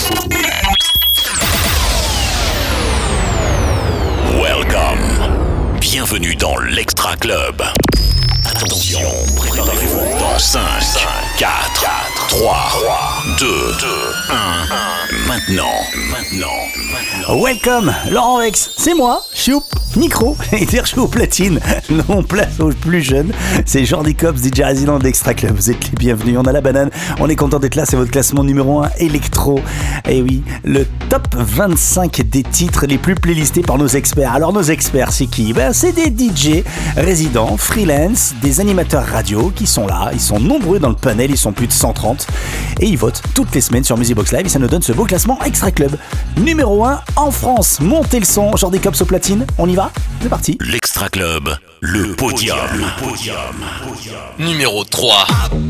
Welcome. Bienvenue dans l'Extra Club. Attention, préparez-vous dans 5, 4, 3, 2, 1. Maintenant. Welcome, Laurent Vex, c'est moi, Choup, micro, et dire je suis au platine. On place aux plus jeunes, c'est Jordi Cops, DJ résident d'Extra Club. Vous êtes les bienvenus, on a la banane, on est content d'être là, c'est votre classement numéro 1 électro. Et oui, le top 25 des titres les plus playlistés par nos experts. Alors nos experts, c'est qui ? C'est des DJ résidents, freelance, des animateurs radio qui sont là, ils sont nombreux dans le panel, ils sont plus de 130 et ils votent toutes les semaines sur Musibox Live et ça nous donne ce beau classement Extra Club numéro 1 en France. Montez le son, Jordi Cops au platine, on y va ? C'est parti. L'Extra Club, le podium. Numéro 3.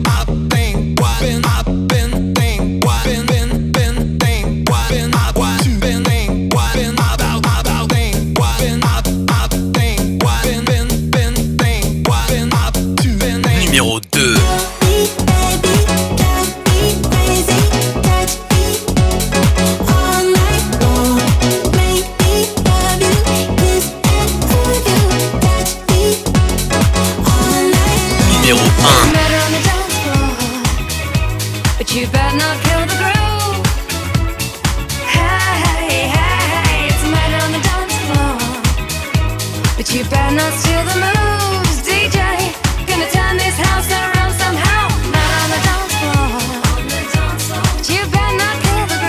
Numéro 2. Numéro 1. But you better not kill the groove. Hey, it's a matter on the dance floor. But you better not steal the moves, DJ. Gonna turn this house around somehow. Not on the dance floor. But you better not kill the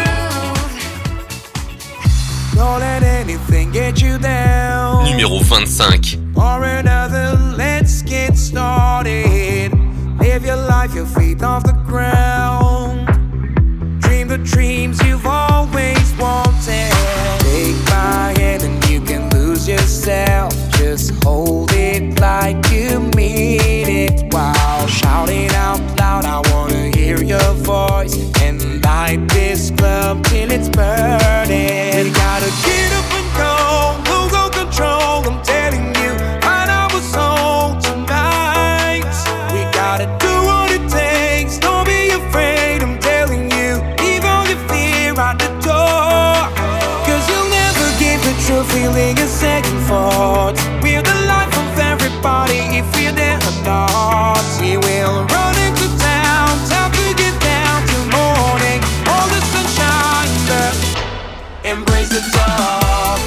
groove. Don't let anything get you down. Numéro 25. Or another, let's get started. Live your life, your feet off the ground. Dream the dreams you've always wanted. Take my hand and you can lose yourself. Just hold it like you mean it while shouting out loud. I wanna hear your voice and light this club till it's burning. You gotta get up and go, lose all control. I'm telling you, find out what's on tonight. We gotta do what it takes. Don't be afraid, I'm telling you. Leave all your fear out the door. Cause you'll never give the true feeling a second thought. We're the life of everybody if we're there or not. We will run into town, time to get down till morning. All the sunshine, embrace the dark.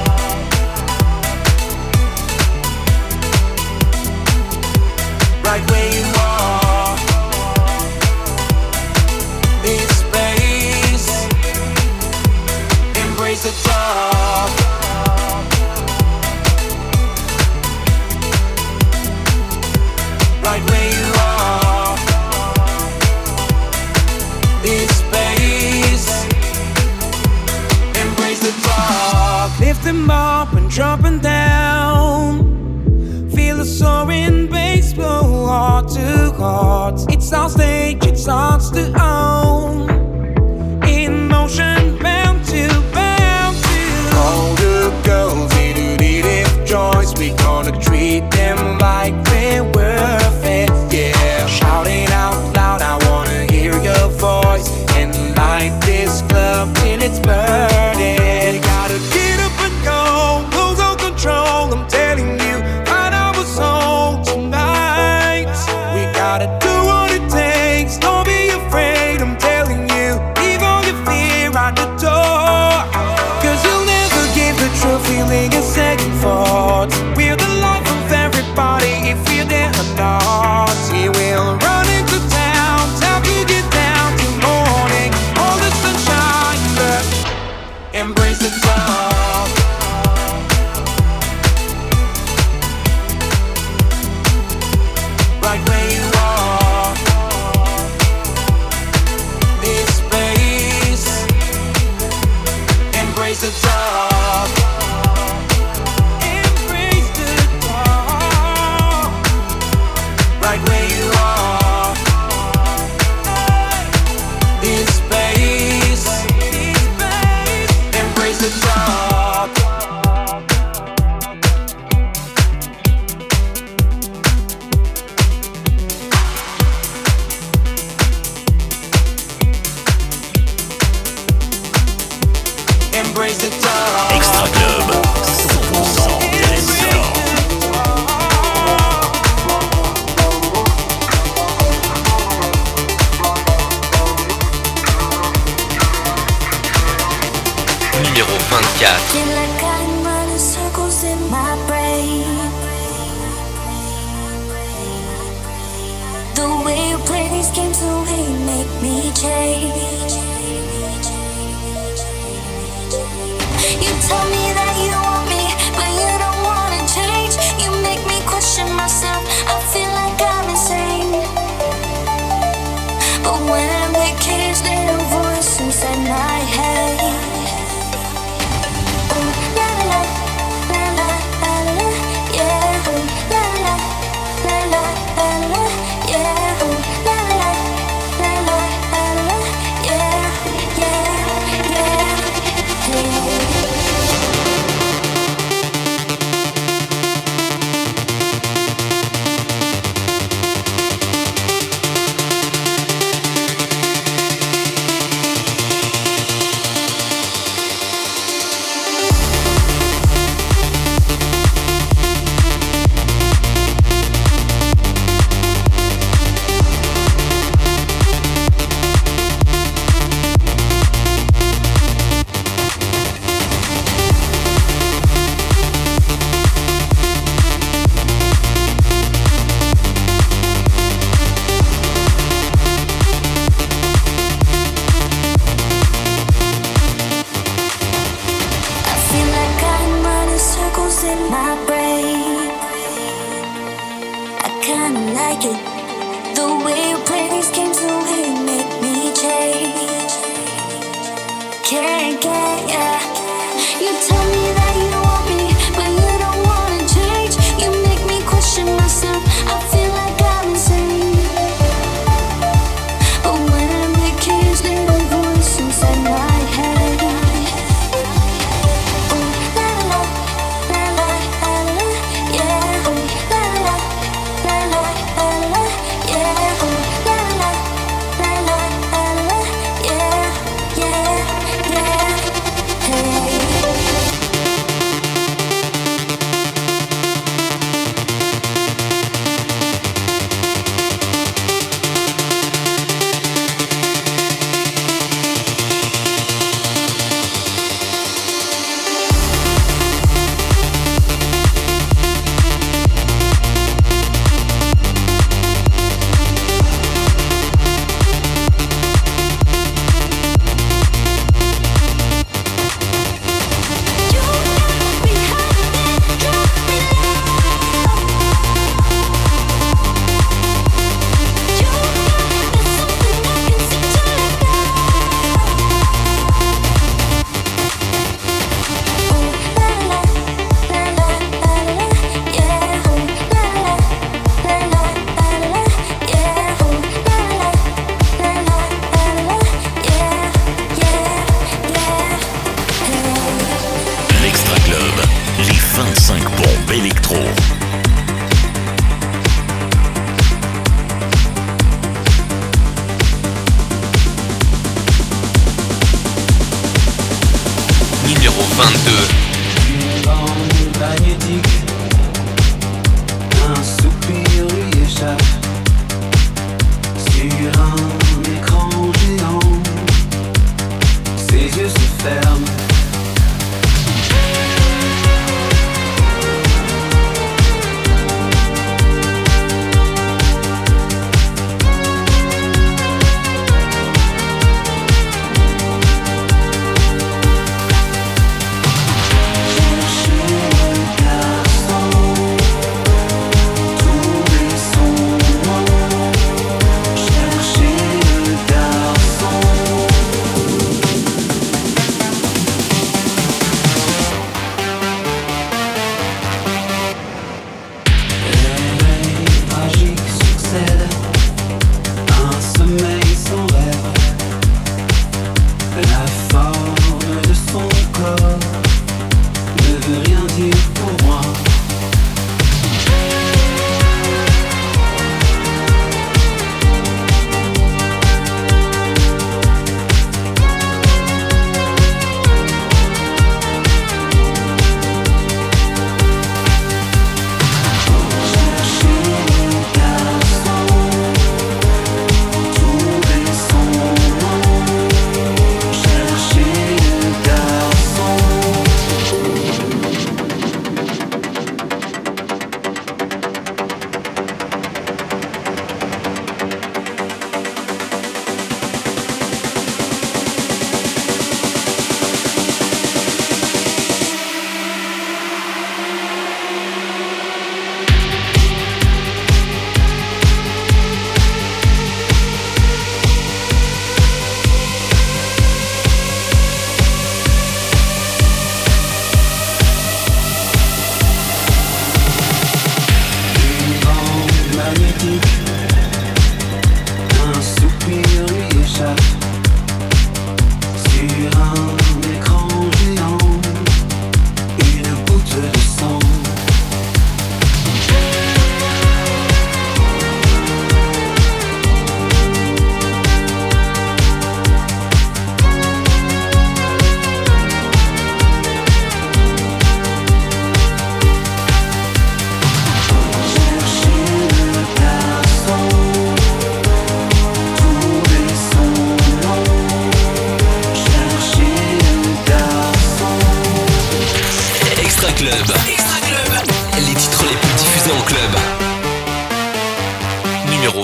Right where you are. This space, embrace the dark. Right where you are. This space, embrace the dark. Lift them up and drop them down. Feel a soaring bass blow heart to heart. It's our stage, it's ours to own. In motion, bound to bound to. All the girls in if choice, we gonna treat them like they're worth it. Yeah, shouting out loud, I wanna hear your voice and light this club till it's burning. You gotta get up and go, lose all control. I'm telling you, find out what's on tonight. We gotta do what it takes. Don't be afraid, I'm telling you. Leave all your fear out the door. Cause you'll never give the true feeling a second thought. We're the life of everybody if we're there or not. We will run into town, time to get down till morning. All the sunshine, embrace the dark. Right where you are. This space, embrace the dark. Extra Club, 100% territoire. Numéro 24. Feel like I'm running circles in my brain. The way you play these games, the way you make me change. You tell me that you want me, but you don't wanna change. You make me question myself, I feel like I'm insane. But when I'm the cage, there's a voice inside my head.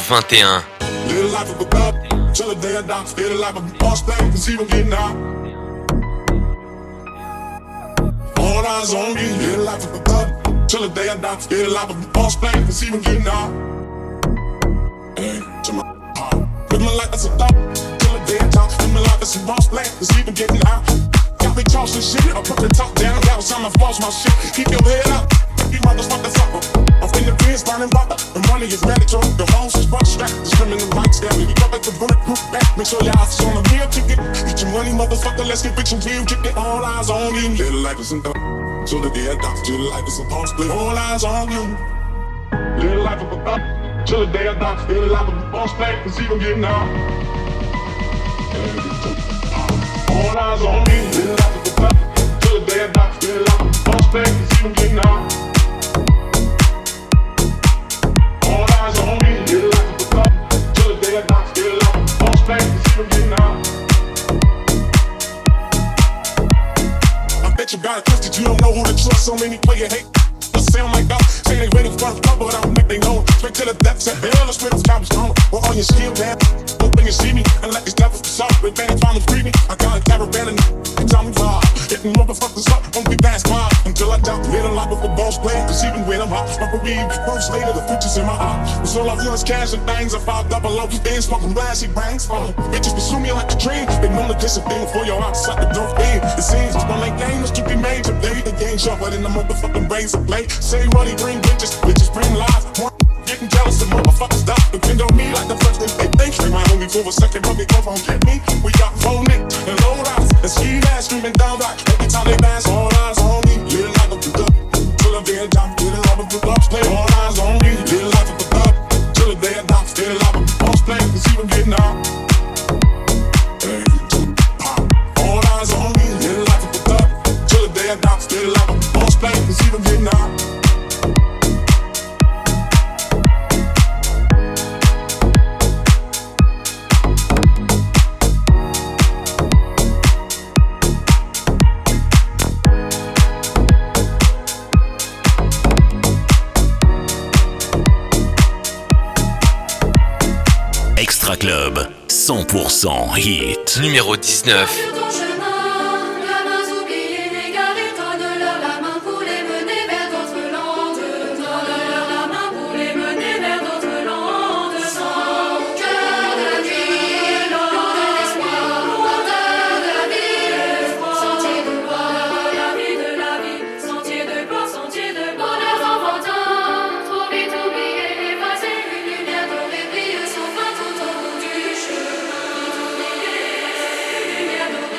21. Live life of a thug, till the day I die. Feel the life of a boss thing, cause even getting out. All eyes on me. Live life of a thug, till the day I die. Feel the life of a boss thing, cause even getting out. Hey, to my heart. Live my life as a thug, till the day I die. Live my life as a boss thing, cause even getting out. Got me tossing shit, I put the top down. That was time I lost my shit. Keep your head up, you motherfuckers up. I'm in the biz, finding water. The money is mandatory. The homes is butt strapped. The criminal rights down. You got like the bulletproof back. Make sure your eyes is on the meal ticket. Get your money, motherfucker. Let's get rich and real. Get all eyes on you. Little life is in the till the day I die. Till the life is supposed to play. All eyes on you. Little life of a thug. Till the day I die. Till the life of a boss play. Cause even getting out. All eyes on me. Little life of a thug. Till the day I die. Till the life of a boss play. Cause even getting out. You got it twisted, you don't know who to trust. So many play your hate. Sound like us, say they ready for the cover, but I don't make they know. Straight to the depths and hell, the spirits got me strong. We're on your skill, man. Hope you see me, and let these devils be soft. With Vantage Farmers free me. I got a caravan and it's on me far. Hitting motherfuckers up, won't be fast car. Until I doubt, live a life of a boss play. Cause even when I'm hot, my career post later, the future's in my heart. Cause all I feel is cash and things. I 500, then smoking glassy bangs. Bitches pursue me like a dream. They know the discipline for your heart, like the dope thing. It seems don't make games to be made today. The game sharper than the motherfucking brains of play. Say money bring bitches, bitches bring lies. Getting jealous of motherfuckers die. Depend on me like the first thing they think. They might only for a second, but they come home get me. We got phone Nick and low rise. And ski ass screaming down right. Every time they pass, all eyes on me. Little life of a thug. Till the day I die, little life of a thug. Play all eyes on me. Little life of a thug. Till the day I die, little life of a boss play. Cause even getting out. All eyes on me. Little life of a thug. Till the day I die, little life of a boss play. Cause even getting out. Extra Club, 100% hit. Numéro 19. Lumière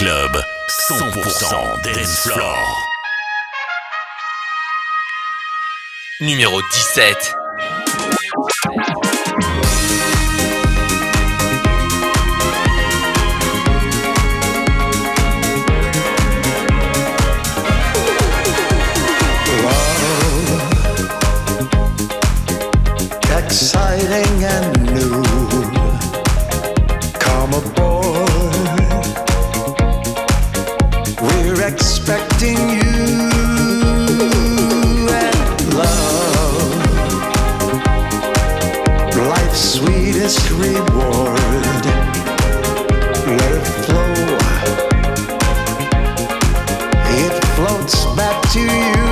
Club, 100% dance floor. Numéro 17. Exciting and new. Come aboard. We're expecting you and love. Life's sweetest reward. Let it flow. It floats back to you.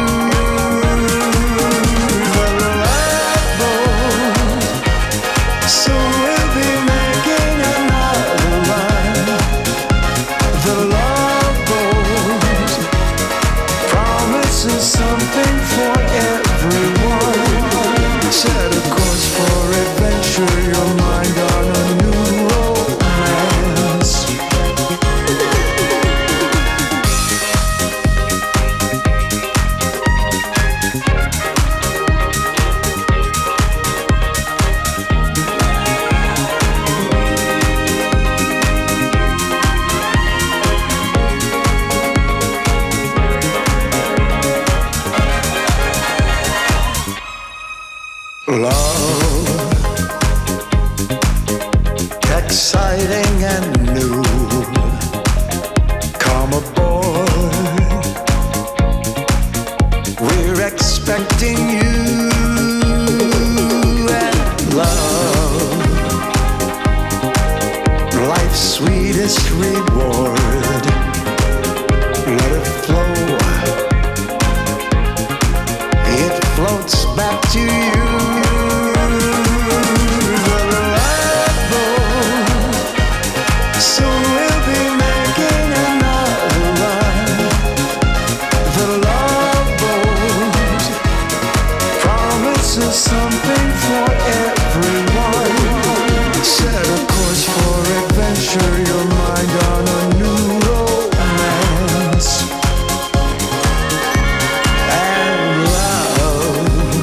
Something for everyone. Set a course for adventure, your mind on a new romance. Love, exciting and new. Come aboard. We're expecting you and love. Life's sweetest reward. Let it flow. It floats back to you. Something for everyone. Set a course for adventure, your mind on a new romance. And love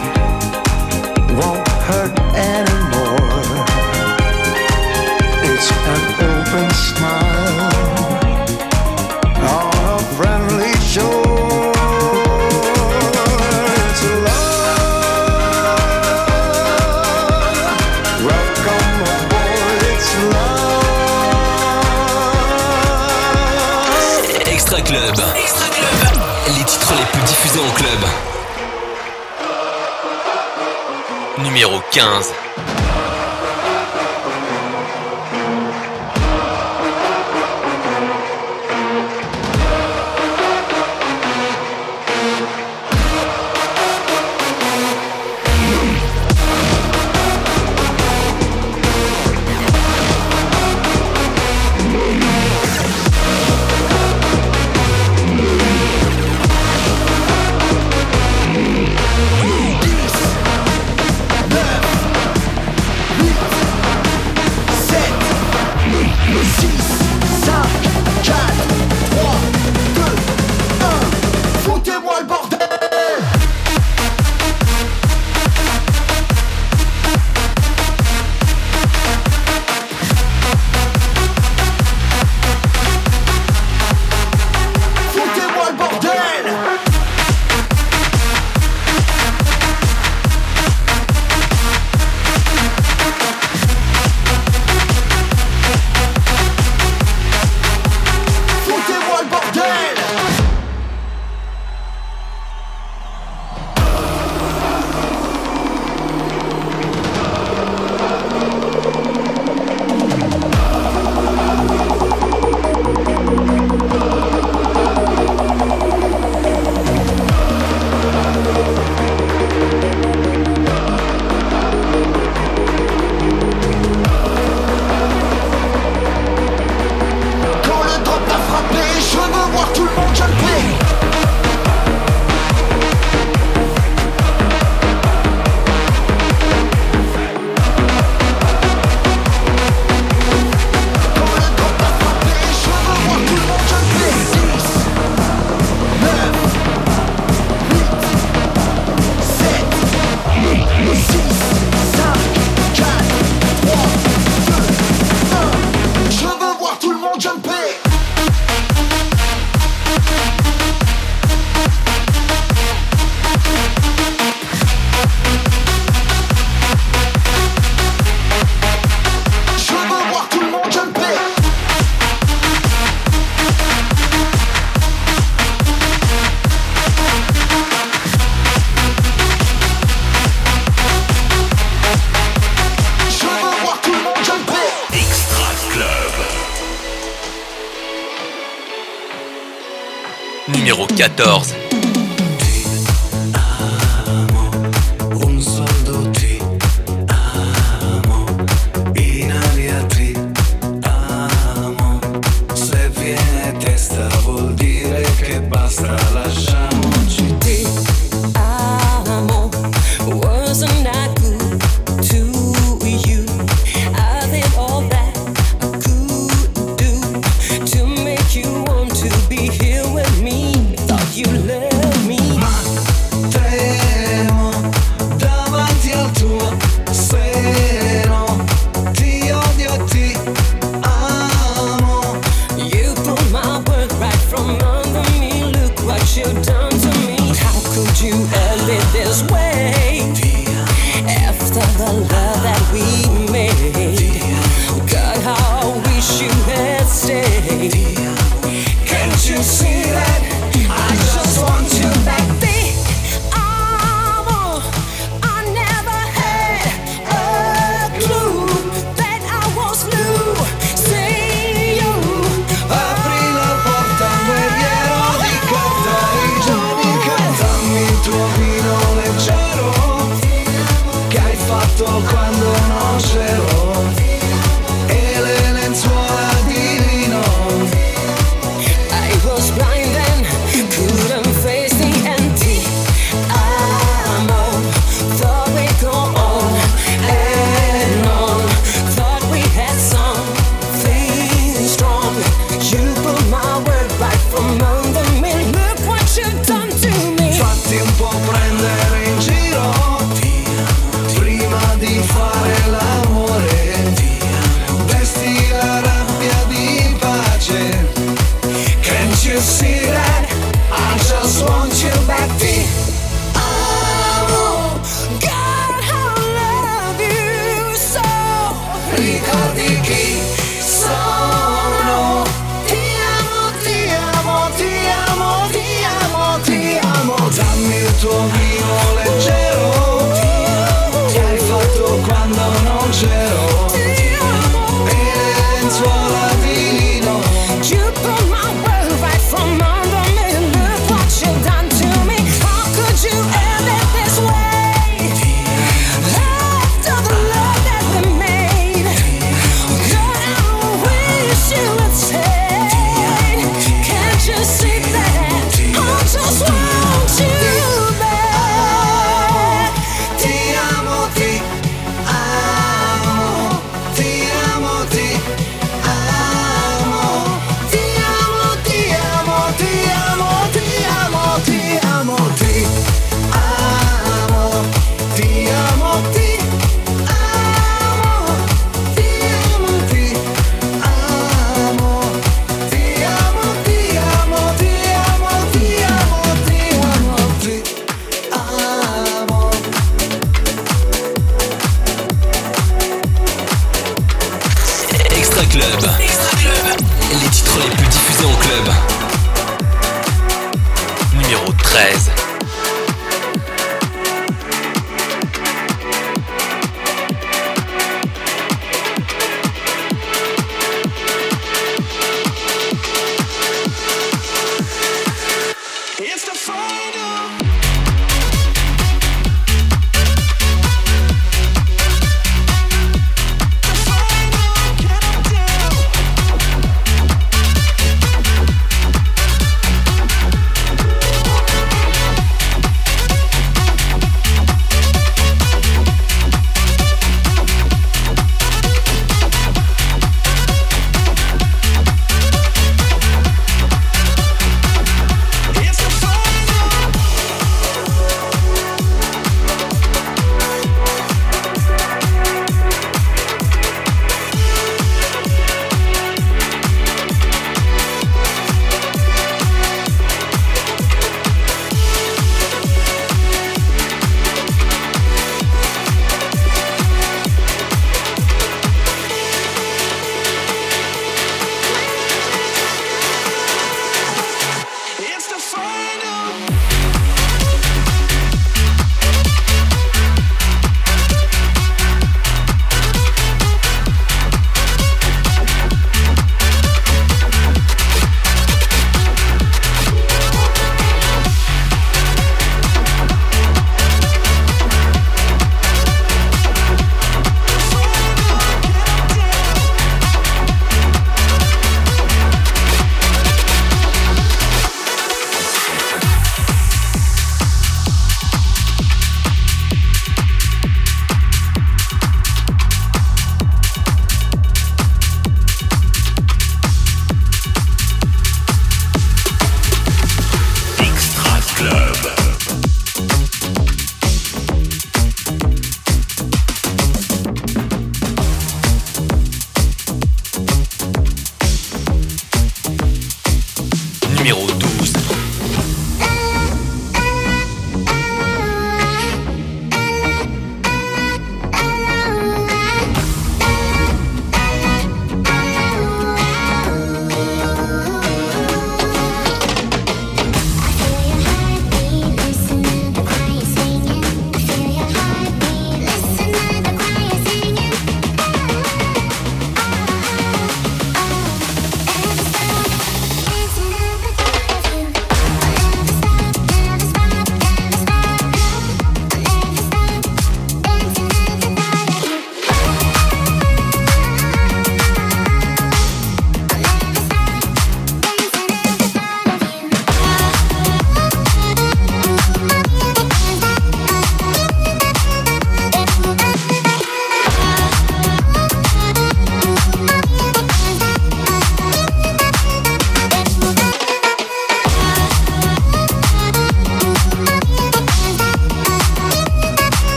won't hurt anymore. It's an open smile on a friendly shore. Extra Club. Les titres les plus diffusés en club. Numéro 15. numéro 14. Un soldo ti amo, in aria ti amo. Se viene testa vuol dire che basta, lasciamoci. Ti amo, wasn't I good to you? I did all that I could do to make you want to be here with me. Thought you loved me. Ma tremo davanti al tuo seno, ti odio e ti amo. You pulled my word right from under me. Look what you've done to me. How could you end it this way? After the love that we made, God, how I wish you had stayed. Can't you see that? I just want you back. Ti amo. I never had a clue that I was losing you. Apri la porta, guerriero di carta, i giorni cantami il tuo vino leggero che hai fatto quando non c'ero, e le lenzuola di lino. I was blind and couldn't face the empty. Thought we'd go on and on. Thought we had something strong. You put my word right from under me. Look what you've done to me. Fatti un po' prendere in giro prima di fare l'amore, vesti la rabbia di pace. Can't you see that? I just want you back. Ti amo, God, how I love you so. ricordi chi sono. Ti amo, ti amo, ti amo, ti amo, ti amo. Dammi il tuo vino leggero che hai fatto quando non c'ero, e le lenzuola di lino. You put my word right from under me. Look what you've done to me. How could you end it this way? After the love that we made, God, I wish you would stay. Can't you see that? I just want you back. Ti amo, ti amo.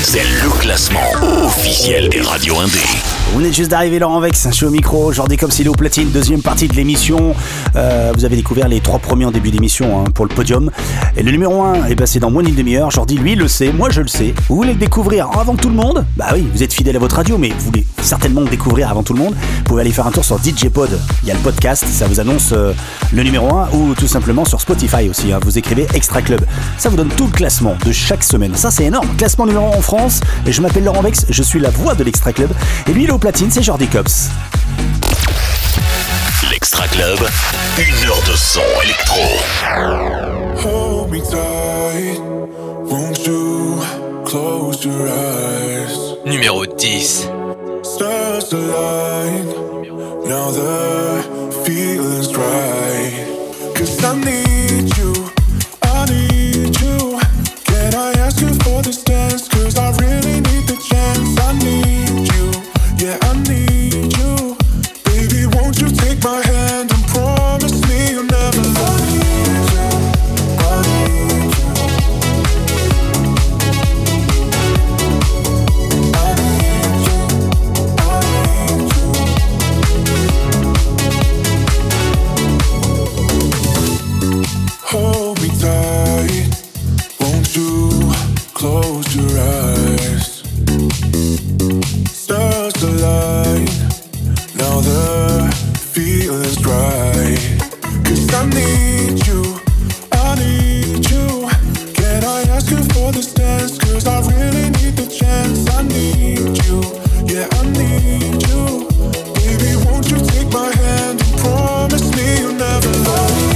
c'est le classement officiel des radios indés. Vous venez juste d'arriver, Laurent Vex, je suis au micro, Jordi Cops, il est au platine, deuxième partie de l'émission. Vous avez découvert les 3 premiers en début d'émission pour le podium. Et le numéro 1, c'est dans moins d'une demi-heure. Jordi, lui, le sait, moi je le sais. Vous voulez le découvrir avant tout le monde? Bah oui, vous êtes fidèle à votre radio, mais vous voulez certainement le découvrir avant tout le monde. Vous pouvez aller faire un tour sur DJ Pod. Il y a le podcast, ça vous annonce le numéro 1, ou tout simplement sur Spotify aussi. Vous écrivez Extra Club. Ça vous donne tout le classement de chaque semaine. Ça, c'est énorme. Classement numéro 1 en France. Et je m'appelle Laurent Vex, je suis la voix de l'Extra Club. Et lui, il est au platine, c'est Jordi Cops. L'Extra Club, 1 heure de son électro. Hold me tight, won't you close your eyes? Numéro 10. Stars align, now the feeling's right. 'Cause I need you, I need you. Can I ask you for this dance? 'Cause I really need the chance. I need you, yeah, I need you. Baby, won't you take my hand and promise me you'll never love me? I need you. Hold me tight, won't you close your eyes? Stars align, now the feeling's right. 'Cause I need you, I need you. Can I ask you for this dance? 'Cause I really need the chance. I need you, yeah, I need you. Baby, won't you take my hand and promise me you'll never love me?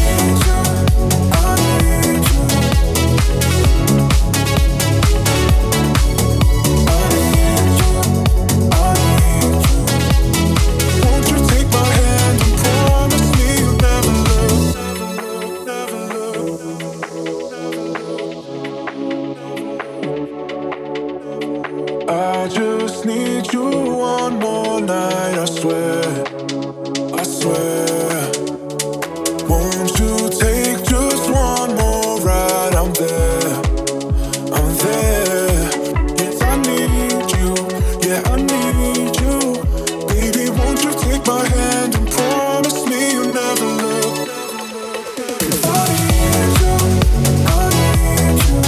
I just need you one more night, I swear, I swear. Won't you take just one more ride? I'm there, I'm there. Yes, I need you, yeah, I need you. Baby, won't you take my hand and promise me you'll never look? I need you, I need you.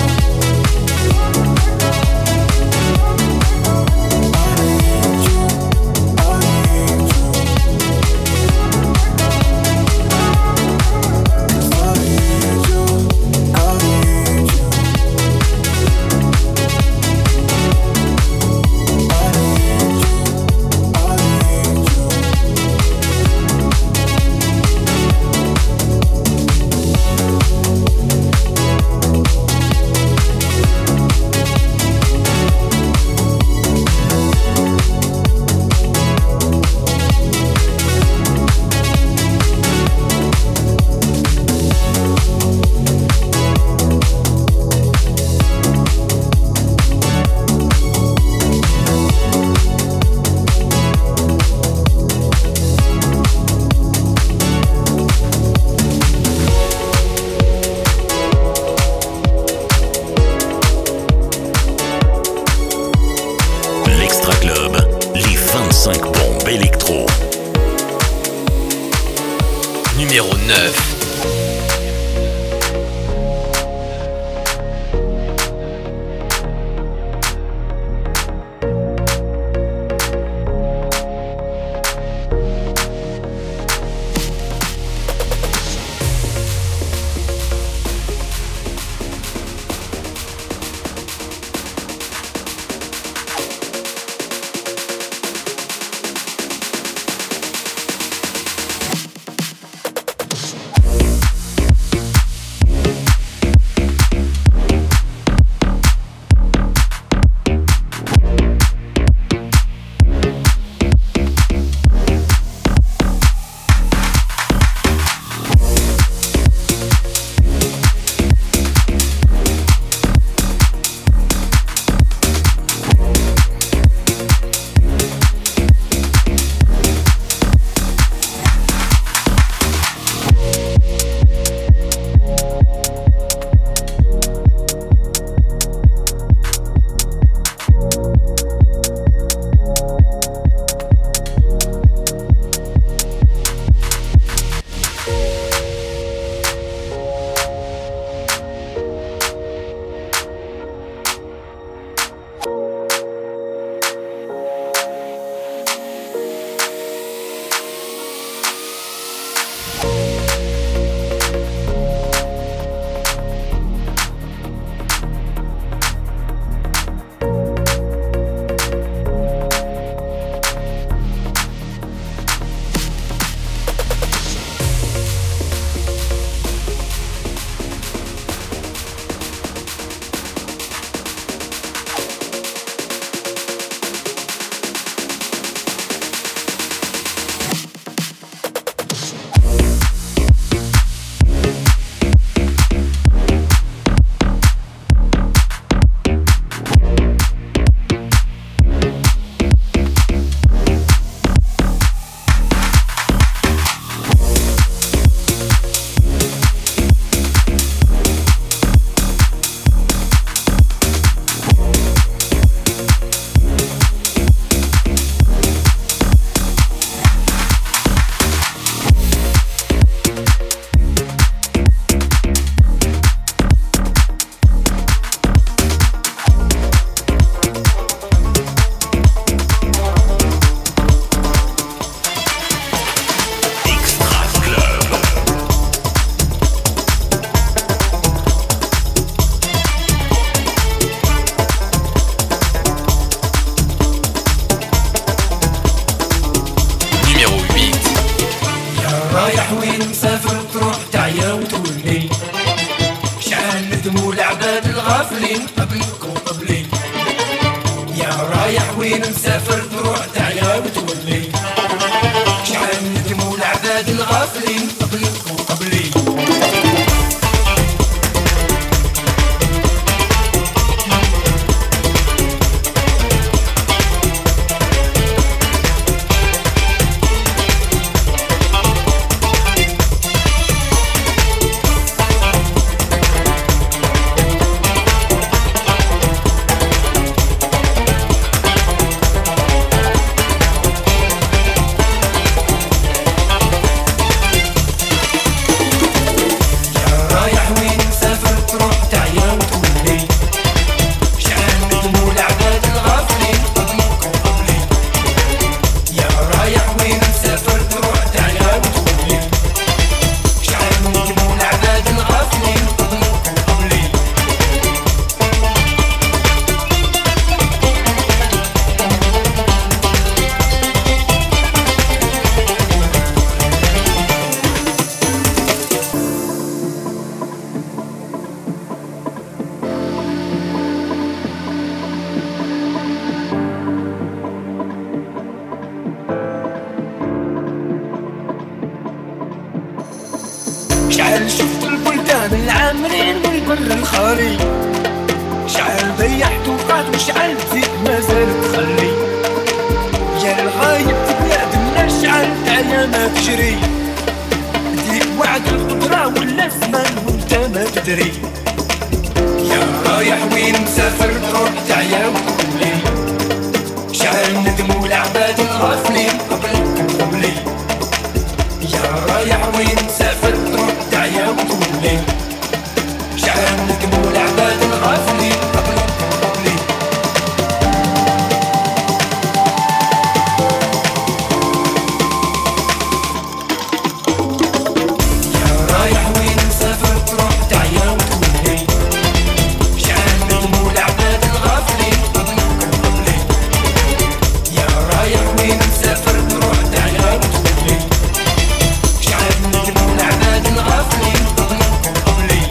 Numéro 9. وين مسافر تروح تعيا وتولي شحال ندموا العباد الغافلين قبلك وقبلي يا رايح وين مسافر تروح تعيا وتولي شحال ندموا العباد الغافلين قبلك وقبلي شحال شفت البلدان العامرين والبر الخالي شحال ضيعت وقعت وشحال فيك مازال تخلي يا الغايب في بلادنا شحال تعيا ما تجري ديك وعد القدرة ولا زمان وانت ما تدري يا رايح وين مسافر تروح تعيا وتولي شحال ندموا العباد الغافلين قبلك وقبلي يا رايح وين مسافر تروح تعيا وتولي شحال ندموا العباد الغافلين قبلك وقبلي يا رايح وين مسافر تروح تعيا وتولي شحال ندموا العباد الغافلين قبلك وقبلي يا رايح وين مسافر تروح تعيا وتولي شحال ندموا العباد الغافلين قبلك وقبلي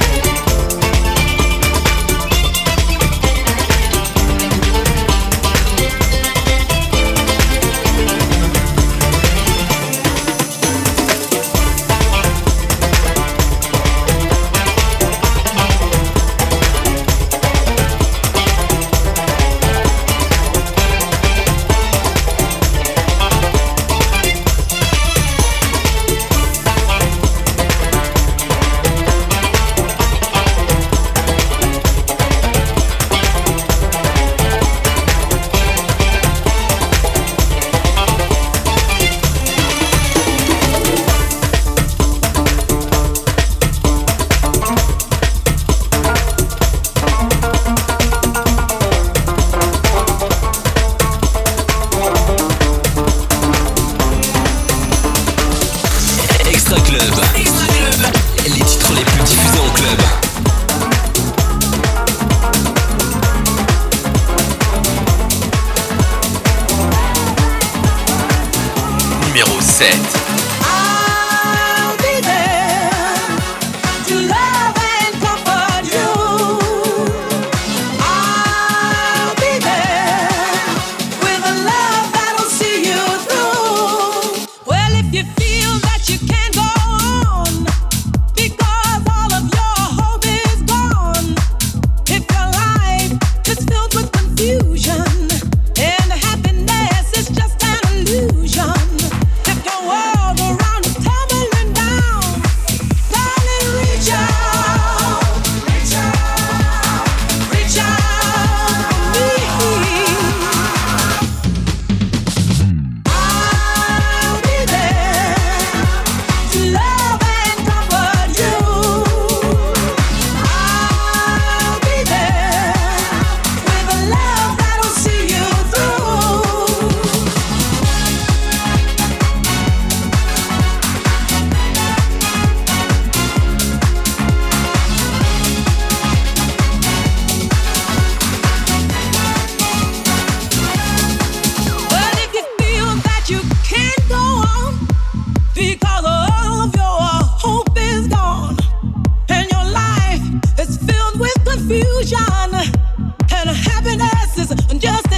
Extra Club. Les titres les plus diffusés en club. Numéro 7. I'll be there to love and comfort you. I'll be there with a love that'll see you through. Well, if you feel that you can't go on because all of your hope is gone, if your life is filled with confusion and happiness is just an illusion. If your world around is tumbling down, darling, reach out, reach out, reach out for me. I'll be there to love and comfort you. I'll be there with a love that'll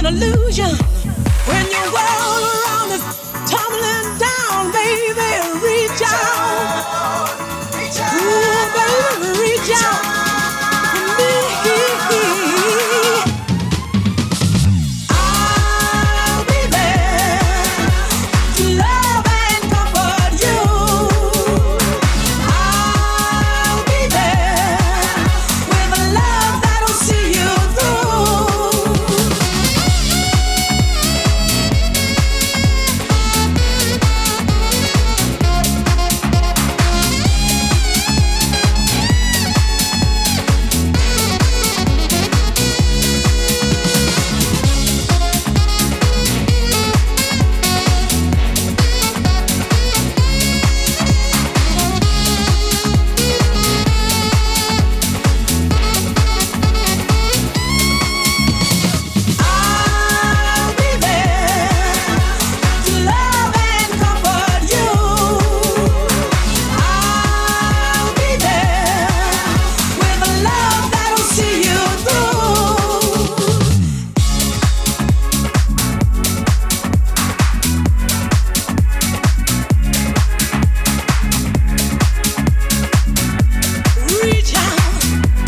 illusion. When your world around is tumbling down, baby, reach out. Ooh, baby, reach out to me. I'll be there to love and comfort you. I'll be there with a love that'll see you through. I'll be there to love and comfort you. I'll be there with a love that'll see you through. Reach out,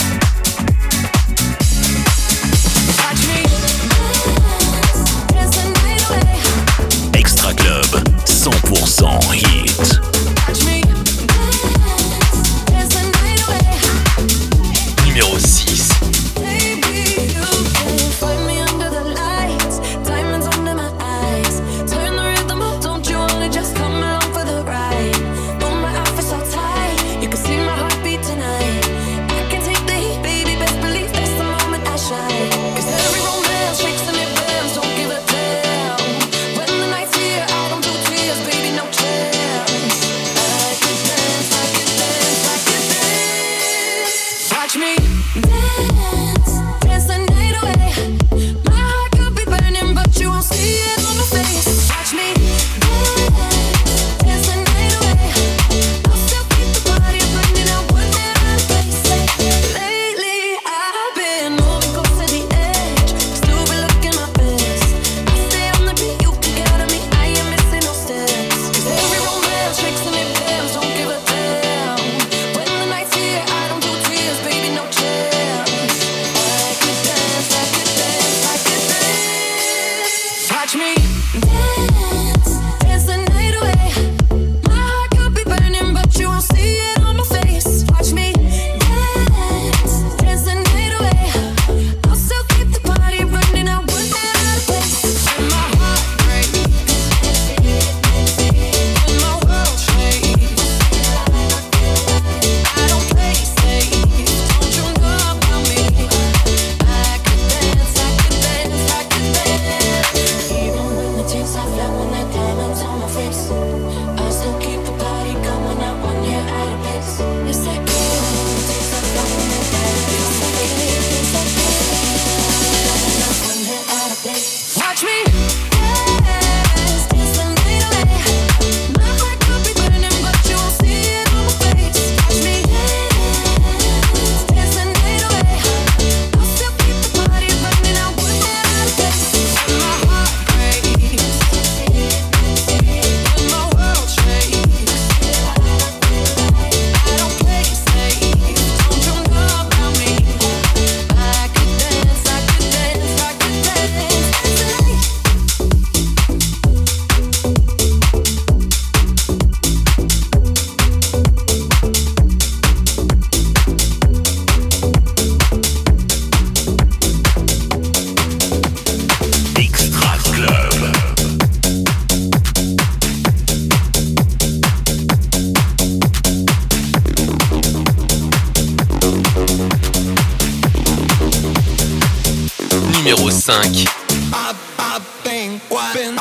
touch me, dance the night away. Extra Club, 100% hit. Touch me, dance the night away. Numéro 6. Baby, you can find me under the lights, diamonds under my eyes. Turn the rhythm up, don't you only just come along for the ride. Pull my outfit so tight, you can see my heartbeat tonight. I can take the heat, baby, best believe that's the moment I shine. 'Cause every romance shakes and it bends, don't give a damn. When the night's here, I don't do tears, baby, no chance. I could dance, I could dance, I could dance. Watch me dance, dance the night away. My heart could be burning, but you won't see it on my face. Watch me dance, dance the night away. I'll still keep the party burning, I wouldn't out of place. Lately, I've been moving close to the edge, still be looking my best. I stay on the beat, you can get at me, I ain't missing no steps. 'Cause every romance shakes and it bends, don't give a damn. When the night's here, I don't do tears, baby, no chance. I could dance, I could dance, I could dance. Watch me dance, dance the night away. My heart could be burning, but you won't see it on my face. Watch me dance, dance the night away. I'll still keep the party running, I wouldn't out of place. When my heart breaks, when my world shakes, I don't play safe, don't you know about me? I could dance, I could dance, I could dance. Even when the tears are flowing, the diamonds on my face, I still keep the party going, not one hair out of place. It's that good, when the tears are flowing, the diamonds on my face, it's that good, not one hair out of place. Watch me dance, dance the night away. My heart could be burning, but you won't see it on my face. Watch me dance, dance the night away. I'll still keep the party running, I wouldn't out of place. When my heart breaks, when my world shakes, I don't play safe, don't you know about me? I could dance, I could dance, I could dance tonight. Extra Club. Numéro 5. I've been thinking,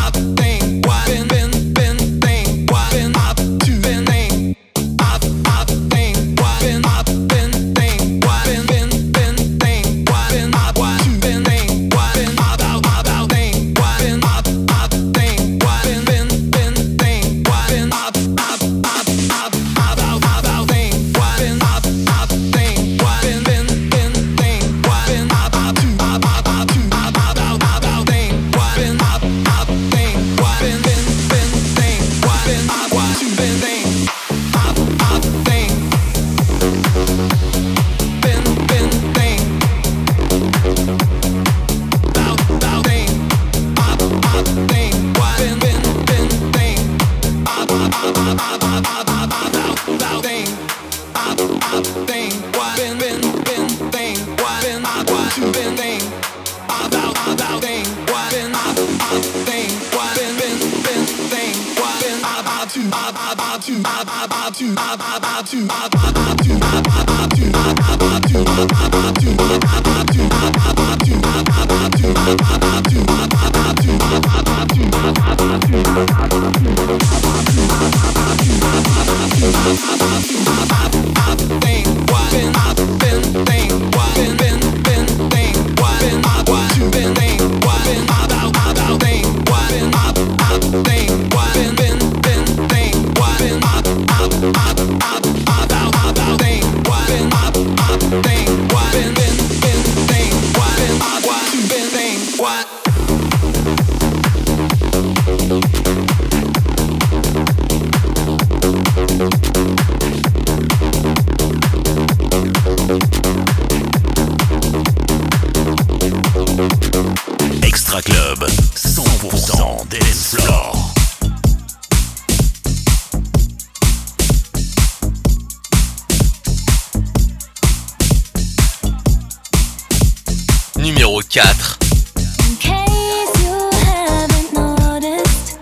I've Extra Club, 100% dance floor. Numéro 4. In case you haven't noticed,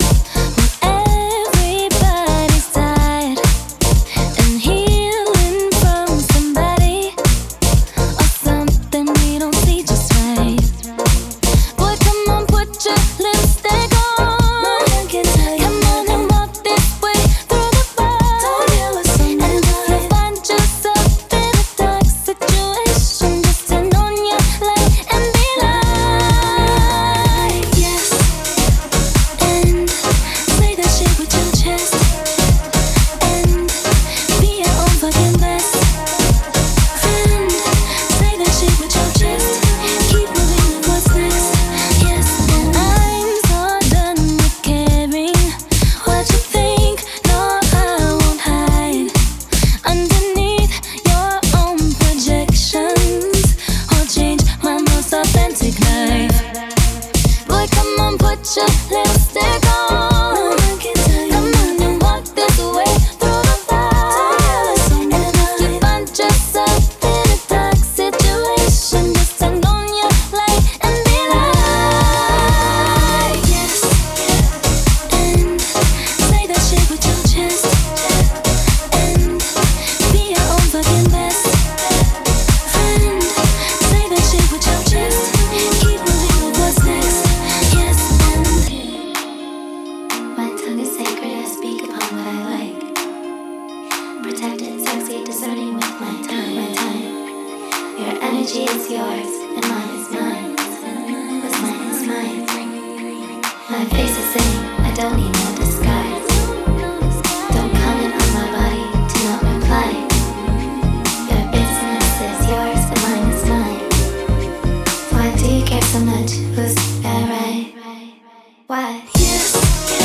everybody's tired and healing from somebody or something we don't see just right. Boy, come on, put your lipstick on. Come on and walk this way through the bar. And if you find yourself in a dark situation, just turn on your light and be like, yes, and say that shit with your chest, and be your own fucking best friend. Say that shit with your chest, keep moving with what's next. Yes, and I'm so done with caring what you think. No, I won't hide underneath your own projections or change my most authentic life. Boy, come on, put your lipstick on. Come on and walk this way through the fire. And if you find yourself in a dark situation, just turn on your light and be like, yes, and say that shit with your chest, and be your own fucking best friend. Say that shit with your chest, keep moving with what's next. Yes, and my tongue is sacred, I speak upon what I like. Protected, sexy, discerning with my time. Your energy is yours, and mine is mine. What's mine is mine. My face is saying, I don't need no disguise. Don't comment on my body, do not reply. Your business is yours, and mine is mine. Why do you care so much? Who's that right? Why? Yes.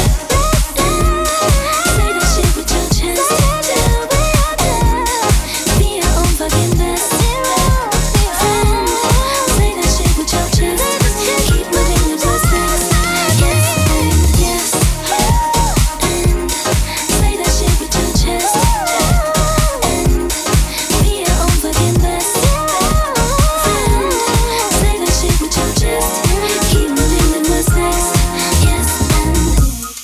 Say that shit with your chest. Be your own fucking best friend. Say that shit with your chest. Keep moving with what's next. Yes, and yes, and say that shit with your chest. And be your own fucking best friend. Say that shit with your chest. Keep moving with what's next. Yes, and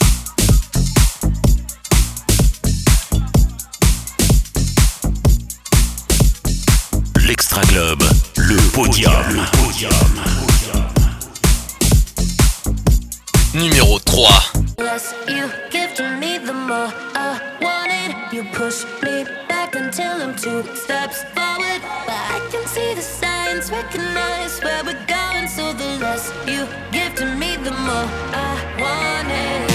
L'Extra Club, le podium. Numéro 3. less you give to me, the more I want it. You push me back until I'm 2 steps forward, but I can see the signs, recognize where we're going. So the less you give to me, the more I want it.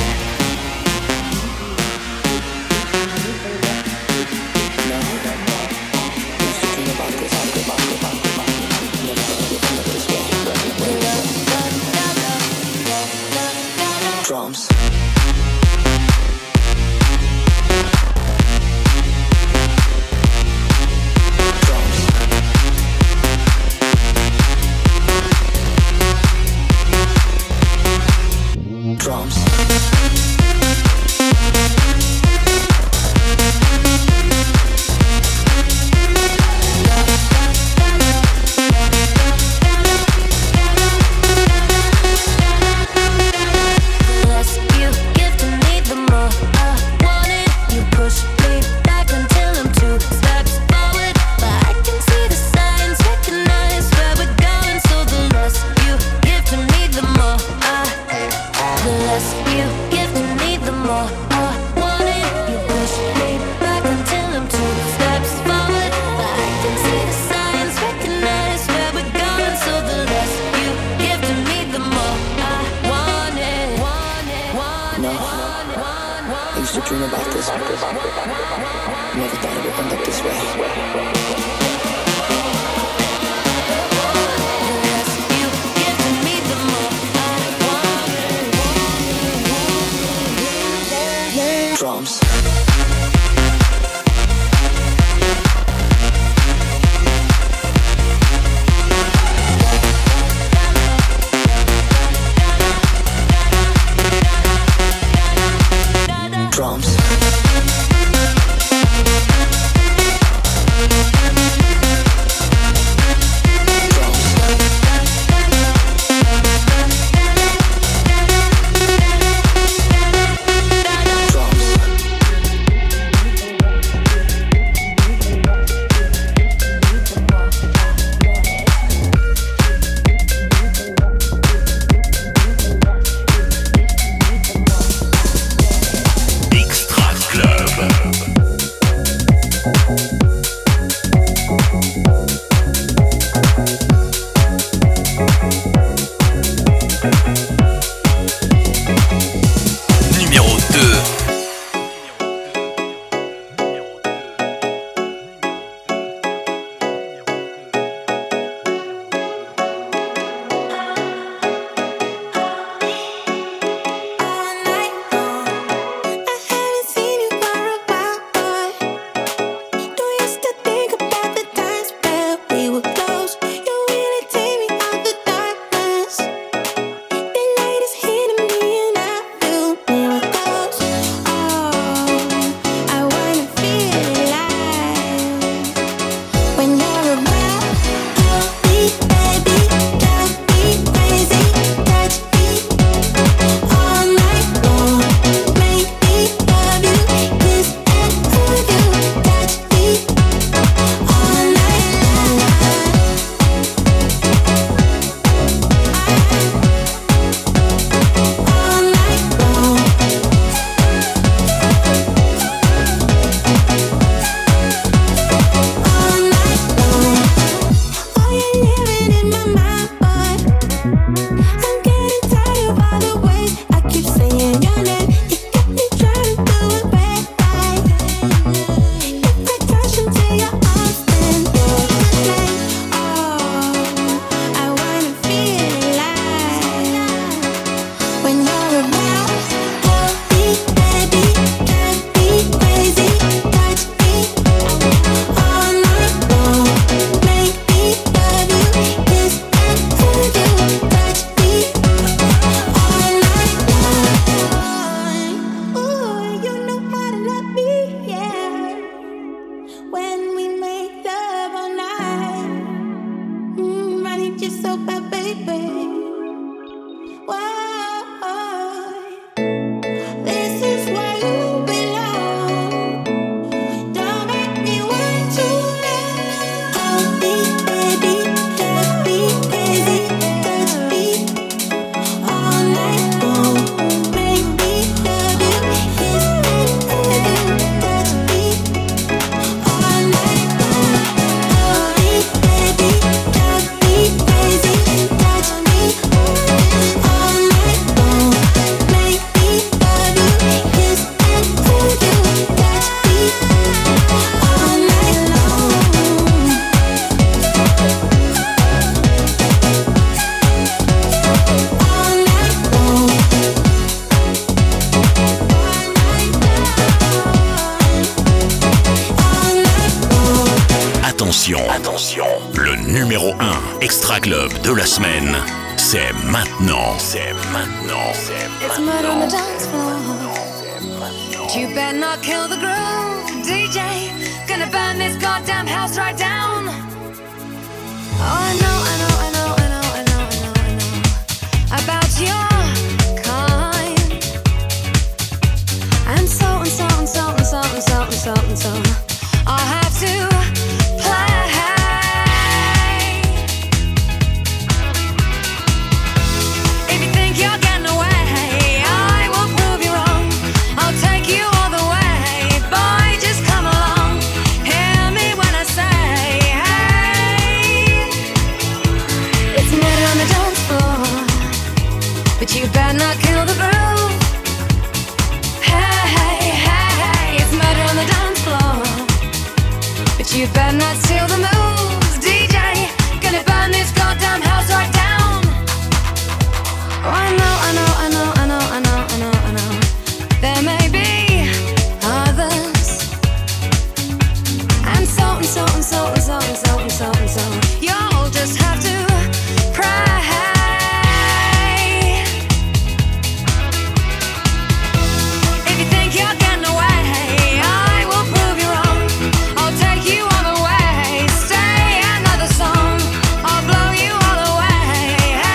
Drums. Drums. Never thought it would end up this way. Drums. Drums. Attention, le numéro 1 Extra Club de la semaine, c'est maintenant. It's murder on the dance floor. You better not kill the groove, DJ. Gonna burn this goddamn house right down. Oh, I know about your kind. And so I'll have to play. If you think you're getting away, I will prove you wrong. I'll take you all the way. Boy, just come along. Hear me when I say, hey. It's murder on the dance floor, but you better not kill the groove. Hey, hey, hey, hey. you better not steal the moves, DJ. Gonna burn this goddamn house right down. Oh, I know. There may be others, and so. You'll just have to pray. If you think you're getting away, I will prove you wrong. I'll take you all the way. Stay another song. I'll blow you all away.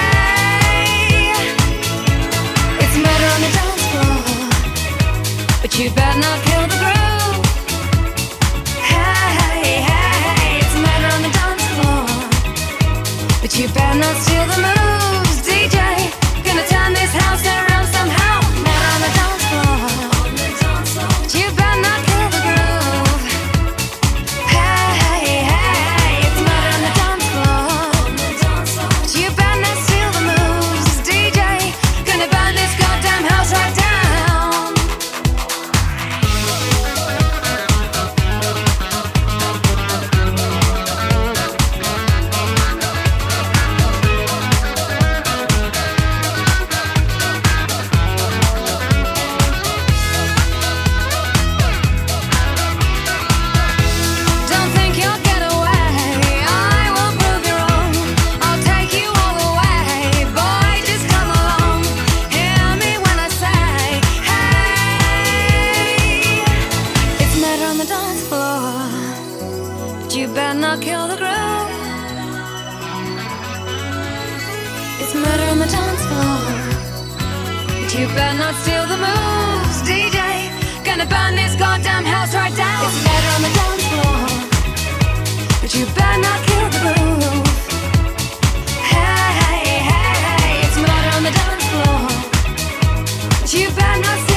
It's murder on the dance floor, but you better not kill the groove. Hey, it's murder on the dance floor, but you better not steal the moves, DJ. Gonna turn this house around somehow. Murder on the dance floor, but you better not kill the groove. Hey, it's murder on the dance floor, but you better not steal the moves, DJ. Gonna burn this goddamn house right down. Don't think you'll get away. I will prove you wrong. I'll take you all the way. Boy, just come along. Hear me when I say, hey. It's murder on the dance floor, but you better not kill the groove. It's murder on the dance floor, but you better not steal the moves, DJ. Gonna burn this goddamn house right down. It's murder on the dance floor, but you better not kill the groove. Hey, it's murder on the dance floor, but you better not steal